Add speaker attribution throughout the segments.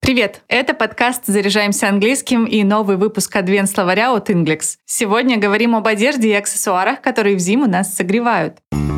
Speaker 1: Привет! Это подкаст «Заряжаемся английским» и новый выпуск адвент-словаря от Inglex. Сегодня говорим об одежде и аксессуарах, которые в зиму нас согревают.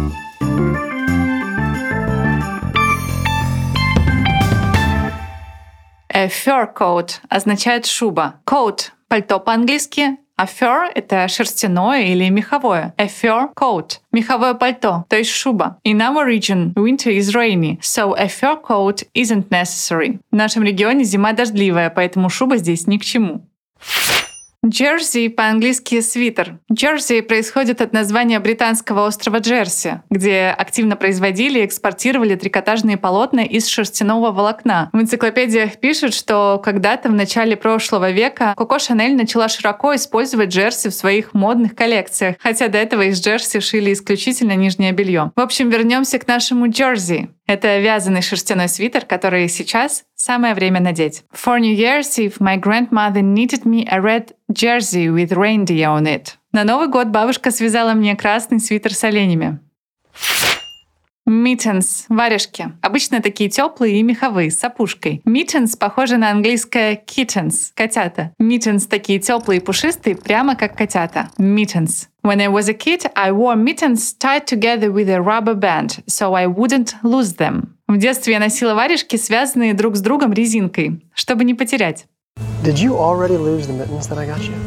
Speaker 1: A fur coat означает шуба. Coat — пальто по-английски, а fur — это шерстяное или меховое. A fur coat — меховое пальто, то есть шуба. In our region, winter is rainy, so a fur coat isn't necessary. В нашем регионе зима дождливая, поэтому шуба здесь ни к чему. Jersey по-английски свитер. Jersey происходит от названия британского острова Джерси, где активно производили и экспортировали трикотажные полотна из шерстяного волокна. В энциклопедиях пишут, что когда-то в начале прошлого века Коко Шанель начала широко использовать джерси в своих модных коллекциях, хотя до этого из джерси шили исключительно нижнее белье. В общем, вернемся к нашему Jersey. Это вязаный шерстяной свитер, который сейчас самое время надеть. For New Year's Eve, my grandmother knitted me a red jersey with reindeer on it. На Новый год бабушка связала мне красный свитер с оленями. Mittens — варежки. Обычно такие теплые и меховые, с опушкой. Mittens похожи на английское kittens — котята. Mittens такие теплые и пушистые, прямо как котята. Mittens. When I was a kid, I wore mittens tied together with a rubber band, so I wouldn't lose them. В детстве я носила варежки, связанные друг с другом резинкой, чтобы не потерять.
Speaker 2: Did you already lose the mittens that I got you?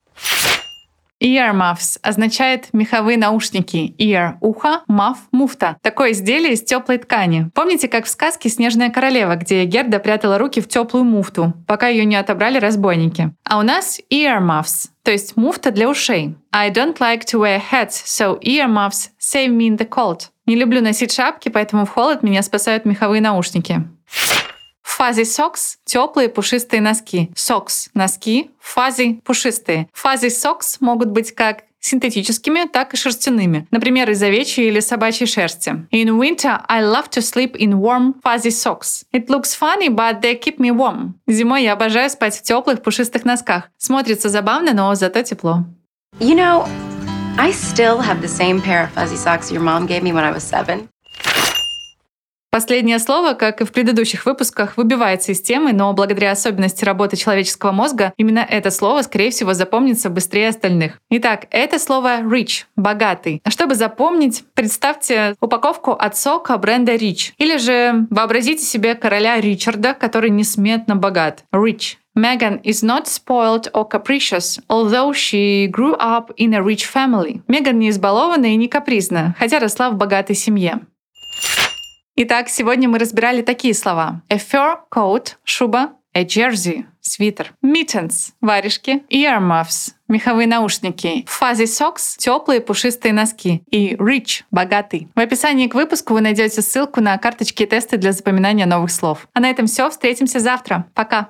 Speaker 1: Earmuffs означает меховые наушники. Ear — ухо, muff — муфта. Такое изделие из теплой ткани. Помните, как в сказке «Снежная королева», где Герда прятала руки в теплую муфту, пока ее не отобрали разбойники? А у нас earmuffs, то есть муфта для ушей. I don't like to wear hats, so earmuffs save me in the cold. Не люблю носить шапки, поэтому в холод меня спасают меховые наушники. Fuzzy socks — теплые пушистые носки. Socks — носки, fuzzy — пушистые. Fuzzy socks могут быть как синтетическими, так и шерстяными. Например, из овечьей или собачьей шерсти. In winter, I love to sleep in warm fuzzy socks. It looks funny, but they keep me warm. Зимой я обожаю спать в теплых пушистых носках. Смотрится забавно, но зато тепло.
Speaker 3: You know, I still have the same pair of fuzzy socks your mom gave me when I was 7.
Speaker 1: Последнее слово, как и в предыдущих выпусках, выбивается из темы, но благодаря особенности работы человеческого мозга именно это слово, скорее всего, запомнится быстрее остальных. Итак, это слово rich — богатый. А чтобы запомнить, представьте упаковку от сока бренда Rich. Или же вообразите себе короля Ричарда, который несметно богат. Rich. Meghan is not spoiled or capricious, although she grew up in a rich family. Меган не избалована и не капризна, хотя росла в богатой семье. Итак, сегодня мы разбирали такие слова. A fur coat — шуба, a jersey — свитер, mittens — варежки, earmuffs — меховые наушники, fuzzy socks — теплые пушистые носки и rich — богатый. В описании к выпуску вы найдете ссылку на карточки и тесты для запоминания новых слов. А на этом все. Встретимся завтра. Пока!